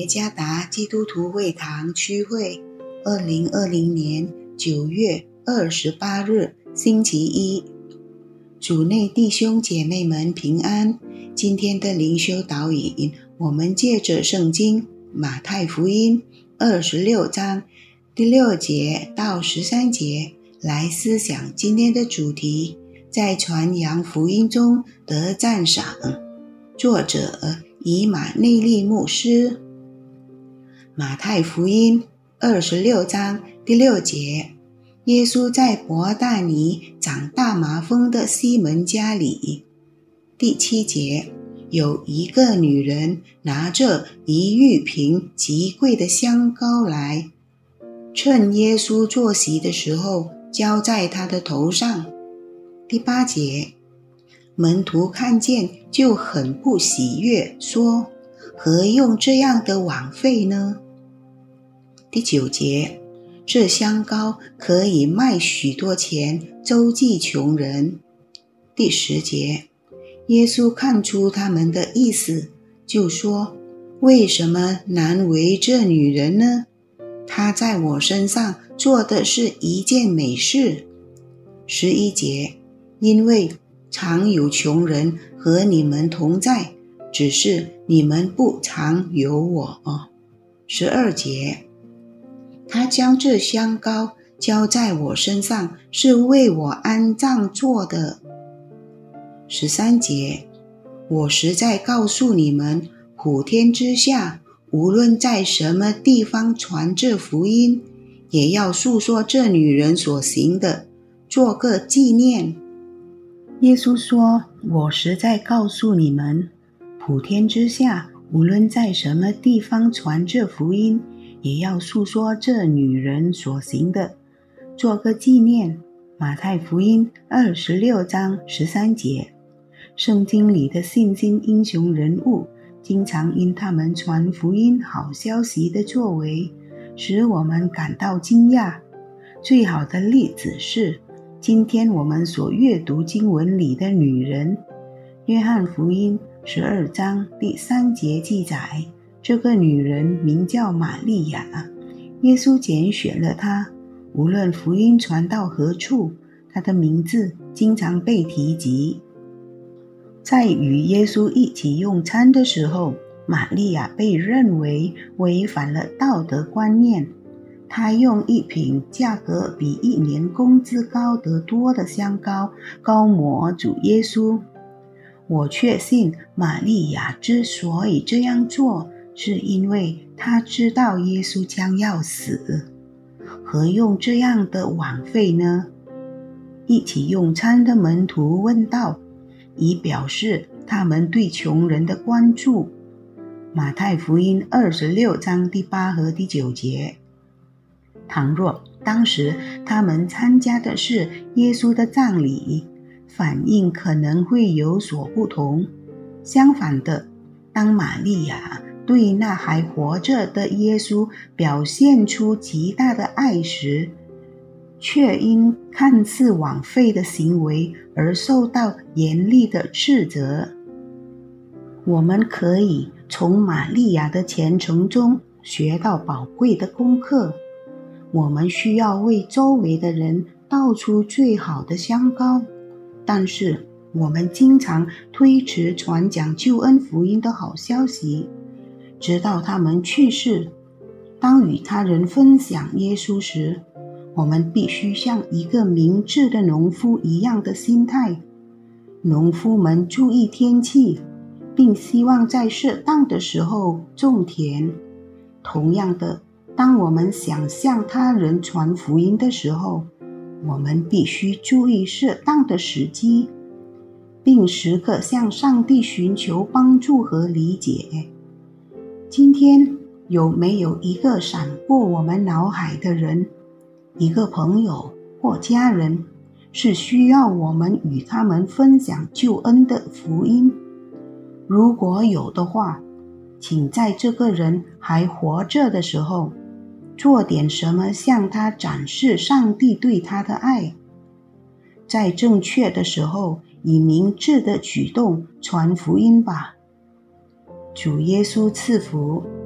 耶加达基督徒会堂区会2020年9月28日星期一，主内弟兄姐妹们平安。今天的灵修导引，我们借着圣经马太福音26章第6节到13节来思想今天的主题，在传扬福音中得赞赏。作者以马内利牧师。马太福音26章第6节，耶稣在伯大尼长大麻风的西门家里。第7节，有一个女人拿着1玉瓶极贵的香膏来，趁耶稣坐席的时候浇在他的头上。第8节，门徒看见就很不喜悦，说：何用这样的枉费呢？第9节，这香膏可以卖许多钱，周济穷人。第10节，耶稣看出他们的意思，就说：为什么难为这女人呢？她在我身上做的是一件美事。11节，因为常有穷人和你们同在，只是你们不常有我。12节，他将这香膏浇在我身上，是为我安葬做的。13节，我实在告诉你们，普天之下，无论在什么地方传这福音，也要述说这女人所行的，做个纪念。耶稣说，我实在告诉你们，普天之下，无论在什么地方传这福音，也要述说这女人所行的，做个纪念。马太福音26章13节，圣经里的信心英雄人物，经常因他们传福音好消息的作为，使我们感到惊讶。最好的例子是今天我们所阅读经文里的女人。约翰福音12章第3节记载，这个女人名叫玛利亚，耶稣拣选了她，无论福音传到何处，她的名字经常被提及。在与耶稣一起用餐的时候，玛利亚被认为违反了道德观念。她用一瓶价格比1年工资高得多的香膏膏抹主耶稣。我确信玛利亚之所以这样做，是因为她知道耶稣将要死。何用这样的枉费呢？一起用餐的门徒问道，以表示他们对穷人的关注。马太福音26章第8和第9节，倘若当时他们参加的是耶稣的葬礼，反应可能会有所不同。相反的，当玛利亚对那还活着的耶稣表现出极大的爱时，却因看似枉费的行为而受到严厉的斥责。我们可以从玛利亚的虔诚中学到宝贵的功课。我们需要为周围的人倒出最好的香膏，但是我们经常推迟传讲救恩福音的好消息，直到他们去世。当与他人分享耶稣时，我们必须像一个明智的农夫一样的心态。农夫们注意天气，并希望在适当的时候种田。同样的，当我们想向他人传福音的时候，我们必须注意适当的时机，并时刻向上帝寻求帮助和理解。今天有没有一个闪过我们脑海的人，一个朋友或家人，是需要我们与他们分享救恩的福音？如果有的话，请在这个人还活着的时候，做点什么向他展示上帝对他的爱。在正确的时候，以明智的举动传福音吧。主耶稣赐福。